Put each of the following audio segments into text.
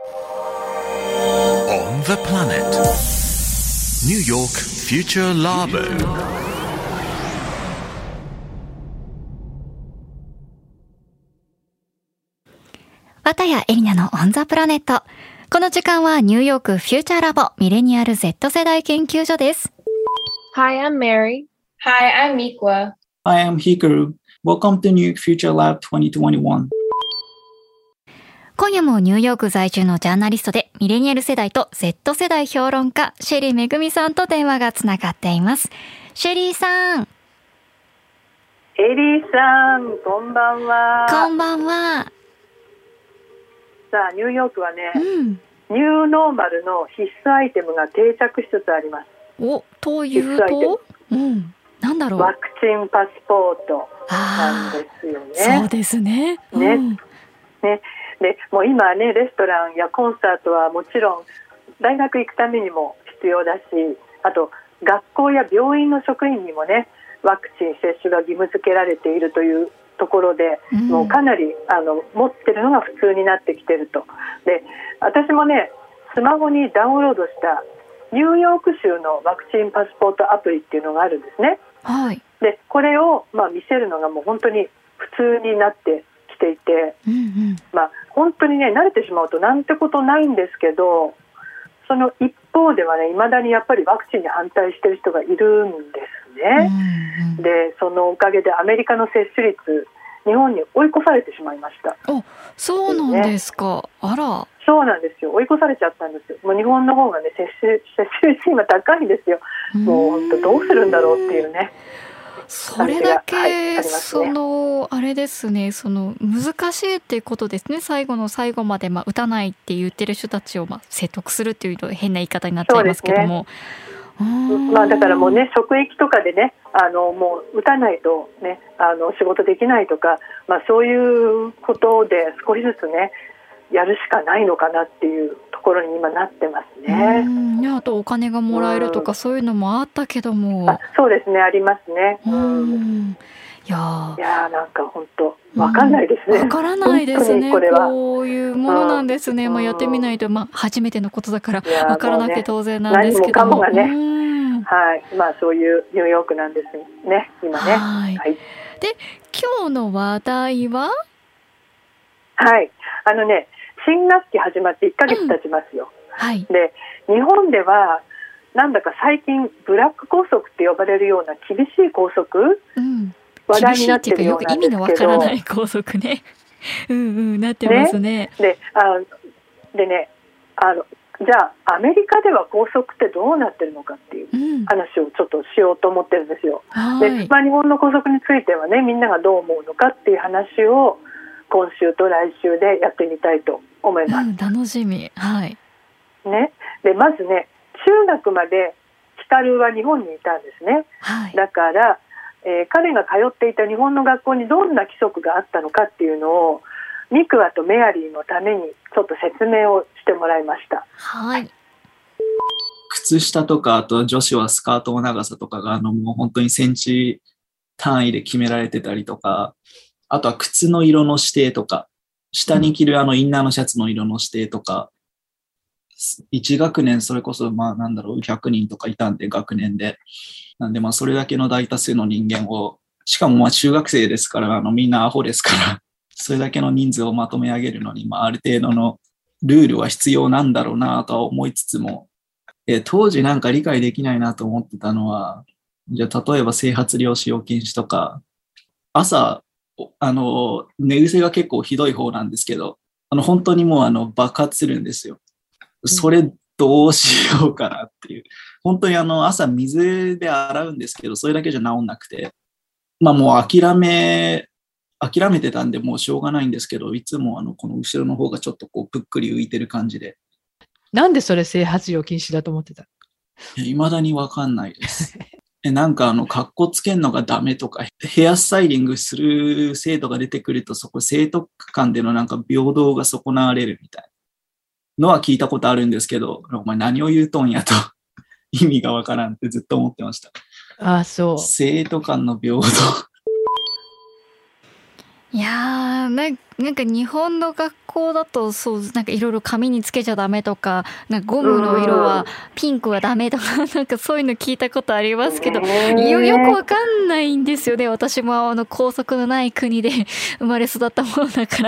On the planet. New York Future Labo. 綿谷エリナの On the Planet。この時間はニューヨークフューチャーラボミレニアル Z 世代研究所です。 Hi, I'm Mary. Hi, I'm Mikwa. Hi, I'm Hikaru. Welcome to New York Future Lab 2021. 今夜もニューヨーク在住のジャーナリストでミレニアル世代と Z 世代評論家シェリーめぐみさんと電話がつながっています。シェリーさん。 エリーさん、こんばんは。 こんばんは。 さあ、ニューヨークはね、ニューノーマルの必須アイテムが定着しつつあります。 お、というと、なんだろう。 ワクチンパスポートなんですよね。 そうですね。 ね、でもう今ね、レストランやコンサートはもちろん大学行くためにも必要だし、あと学校や病院の職員にもね、ワクチン接種が義務付けられているというところで、もうかなり持ってるのが普通になってきてると。で、私もね、スマホにダウンロードしたニューヨーク州のワクチンパスポートアプリっていうのがあるんですね。 はい。 で、これを見せるのがもう本当に普通になってきていて、本当にね、慣れてしまうとなんてことないんですけど、その一方ではね、未だにやっぱりワクチンに反対している人がいるんですね。で、そのおかげでアメリカの接種率、日本に追い越されてしまいました。 そうなんですか。あら。 そうなんですよ。追い越されちゃったんですよ。もう日本の方がね、接種率今高いんですよ。もう本当どうするんだろうっていうね。 それだけ、あれですね、難しいっていうことですね。最後の最後まで打たないって言ってる人たちを説得するっていうと変な言い方になっちゃいますけども。 だからもうね、職域とかでね、もう打たないとね、仕事できないとか、そういうことで少しずつね、やるしかないのかなっていうところに今なってますね。 あとお金がもらえるとかそういうのもあったけども。 そうですね、ありますね。いやなんか本当わかんないですね。 わからないですね。こういうものなんですね。やってみないと、初めてのことだからわからなくて当然なんですけども。 何もかもがね、はい、そういうニューヨークなんですね、今ね。はい。 で、今日の話題は、 はい、新学期始まって1ヶ月経ちますよ。で、日本ではなんだか最近ブラック校則って呼ばれるような厳しい校則、話題になってるようなんですけど、 厳しいっていうかよく意味のわからない校則ね。なってますね。 でね、じゃあアメリカでは校則ってどうなってるのかっていう話をちょっとしようと思ってるんですよ。で、日本の校則についてはね、みんながどう思うのかっていう話を今週と来週でやってみたいと思います。 楽しみ。はいね、でまずね、中学までヒカルは日本にいたんですね。だから、彼が通っていた日本の学校にどんな規則があったのかっていうのをミクワとメアリーのためにちょっと説明をしてもらいました。 靴下とか、あと女子はスカートの長さとかがもう本当にセンチ単位で決められてたりとか、あとは靴の色の指定とか、下に着るインナーのシャツの色の指定とか、1学年それこそ100人とかいたんで、学年で。なんでそれだけの大多数の人間を、しかも中学生ですからみんなアホですから、それだけの人数をまとめ上げるのに、ある程度のルールは必要なんだろうなとは思いつつも、当時なんか理解できないなと思ってたのは、じゃあ例えば整髪料使用禁止とか、朝寝癖が結構ひどい方なんですけど、本当にもう爆発するんですよ。それどうしようかなっていう。本当に朝水で洗うんですけど、それだけじゃ治んなくて、もう諦めてたんでもうしょうがないんですけど、いつもこの後ろの方がちょっとぷっくり浮いてる感じで。 なんでそれ整髪料禁止だと思ってた？ 未だにわかんないです。なんかカッコつけんのがダメとか、ヘアスタイリングする生徒が出てくると、そこ生徒間でのなんか平等が損なわれるみたいなのは聞いたことあるんですけど、お前何を言うとんやと意味がわからんってずっと思ってました。 そう。 生徒間の平等。 いやー、 なんか日本の学校だとそうなんかいろいろ紙につけちゃダメとか、なんかゴムの色はピンクはダメとかなんかそういうの聞いたことありますけど、よくわかんないんですよね。私も校則のない国で生まれ育ったものだから。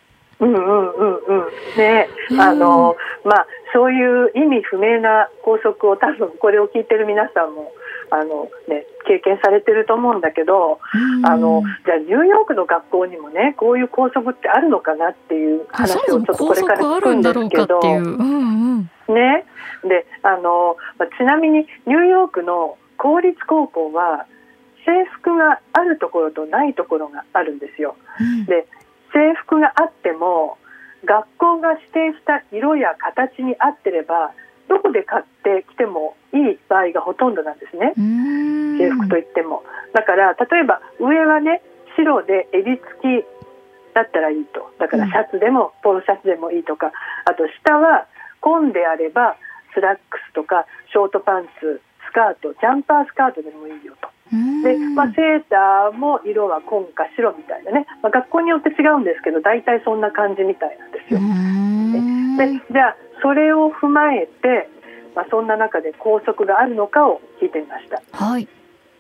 ね、まあそういう意味不明な校則を多分これを聞いてる皆さんも経験されてると思うんだけど、じゃあニューヨークの学校にもねこういう校則ってあるのかなっていう話をちょっとこれから聞くんですけど、ね、でちなみにニューヨークの公立高校は制服があるところとないところがあるんですよ。で制服があっても学校が指定した色や形に合ってればどこで買ってきてもいい場合がほとんどなんですね。制服といってもだから例えば上はね白で襟付きだったらいいと、だからシャツでもポロシャツでもいいとか、あと下は紺であればスラックスとかショートパンツ、スカート、ジャンパースカートでもいいよと。で、セーターも色は紺か白みたいなね、学校によって違うんですけど大体そんな感じみたいなんですよ。でじゃあそれを踏まえて、そんな中で校則があるのかを聞いてみました。 はい。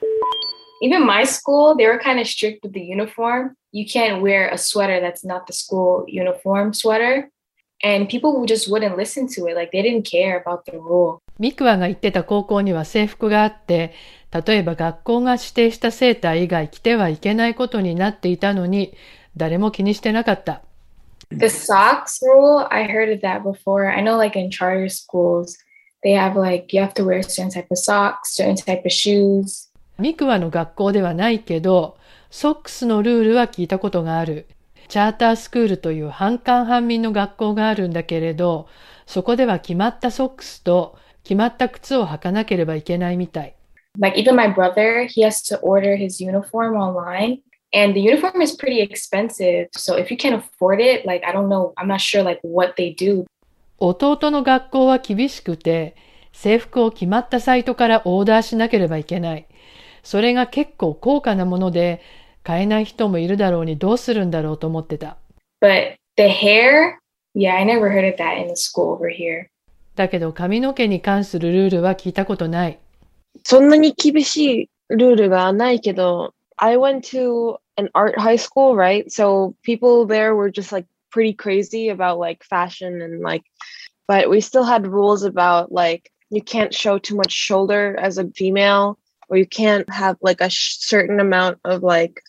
Even my school, they were kind of strict with the uniform. You can't wear a sweater that's not the school uniform sweater. And people just wouldn't listen to it. Like they didn't care about the rule. ミクワが行ってた高校には制服があって、例えば学校が指定したセーター以外着てはいけないことになっていたのに、誰も気にしてなかった。 The socks rule, I heard of that before. I know like in charter schools, they have like, you have to wear a certain type of socks, certain type of shoes. ミクワの学校ではないけど、ソックスのルールは聞いたことがある。チャータースクールという半官半民の学校があるんだけれど、そこでは決まったソックスと決まった靴を履かなければいけないみたい。 Like even my brother, he has to order his uniform online. And the uniform is pretty expensive. So if you can't afford it, like, I don't know, I'm not sure like what they do. 弟の学校は厳しくて、制服を決まったサイトからオーダーしなければいけない。それが結構高価なもので、買えない人もいるだろうにどうするんだろうと思ってた。 But the hair, yeah, I never heard of that in the school over here. だけど髪の毛に関するルールは聞いたことない。 そんなに厳しいルールがないけど、I went to an art high school, right? So people there were just like pretty crazy about like fashion and like, but we still had rules about like, you can't show too much shoulder as a female, or you can't have like a certain amount of like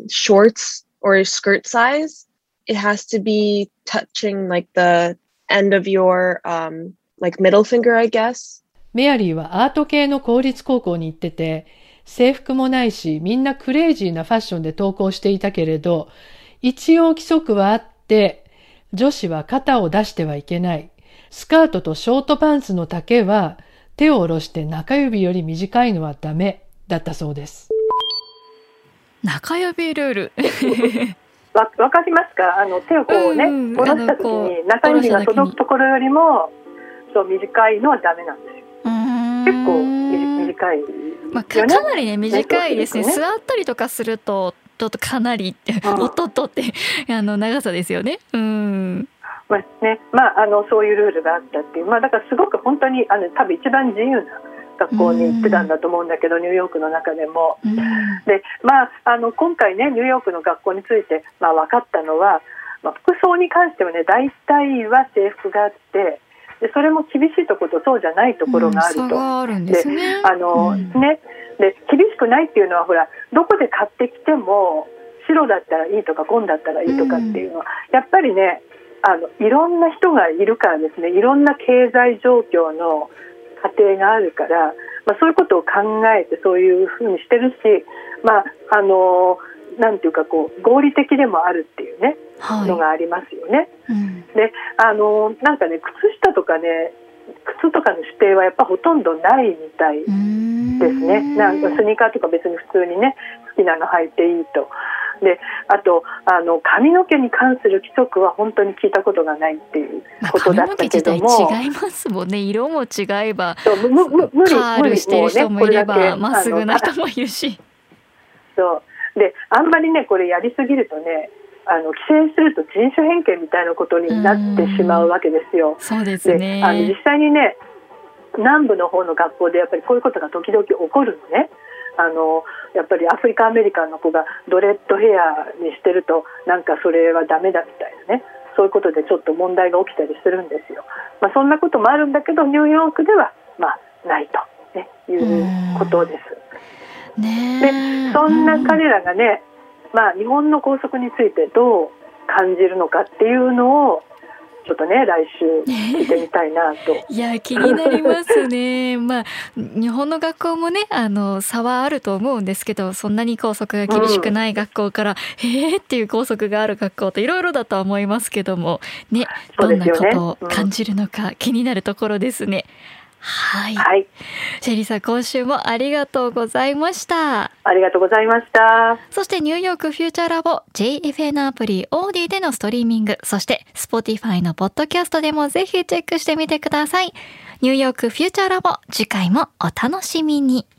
shorts or skirt size. It has to be touching like the end of your like middle finger, I guess. メアリーはアート系の公立高校に行ってて、制服もないし、みんなクレイジーなファッションで登校していたけれど、一応規則はあって、女子は肩を出してはいけない。スカートとショートパンツの丈は、手を下ろして中指より短いのはダメだったそうです。 中指ルール。 わかりますか？手をこうね、下ろした時に中指が届くところよりもそう短いのはダメなんですよ。結構短い。 かなりね短いですね。座ったりとかするとちょっとかなりおっとっとって長さですよね。 そういうルールがあったっていう、だからすごく本当に多分一番自由な学校に行ってたんだと思うんだけど、ニューヨークの中でも。で、今回ねニューヨークの学校について分かったのは、服装に関してはね大体は制服があって。でそれも厳しいところとそうじゃないところがあると。 差があるんですね。 で厳しくないっていうのはほらどこで買ってきても白だったらいいとか紺だったらいいとかっていうのは、やっぱりねいろんな人がいるからですね、いろんな経済状況の家庭があるから、そういうことを考えてそういうふうにしてるし、なんていうかこう合理的でもあるっていうね、のがありますよね。でなんかね靴下とかね靴とかの指定はやっぱほとんどないみたいですね。なんかスニーカーとか別に普通にね好きなの履いていいと。であと髪の毛に関する規則は本当に聞いたことがないっていうことだったけども、 髪の毛自体違いますもんね。色も違えばカールしてる人もいればまっすぐな人もいるし。 そうであんまりねこれやりすぎるとね規制すると人種偏見みたいなことになってしまうわけですよ。 そうですね。 で実際にね、南部の方の学校でやっぱりこういうことが時々起こるのね。やっぱりアフリカンアメリカンの子がドレッドヘアにしてるとなんかそれはダメだみたいなね、そういうことでちょっと問題が起きたりするんですよ。そんなこともあるんだけどニューヨークではないと、ね、いうことです。でそんな彼らがね、日本の校則についてどう感じるのかっていうのをちょっとね来週聞いてみたいなといや気になりますね。日本の学校もね差はあると思うんですけど、そんなに校則が厳しくない学校から、っていう校則がある学校といろいろだとは思いますけどもね、どんなことを感じるのか気になるところですね。はい、シェリーさん今週もありがとうございました。 ありがとうございました。 そしてニューヨークフューチャーラボ JFN アプリオーディでのストリーミング、そして Spotify のポッドキャストでもぜひチェックしてみてください。ニューヨークフューチャーラボ、次回もお楽しみに。